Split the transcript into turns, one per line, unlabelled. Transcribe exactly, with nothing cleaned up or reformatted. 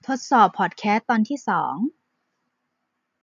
ทดสอบพอดแคสต์ตอนที่สอง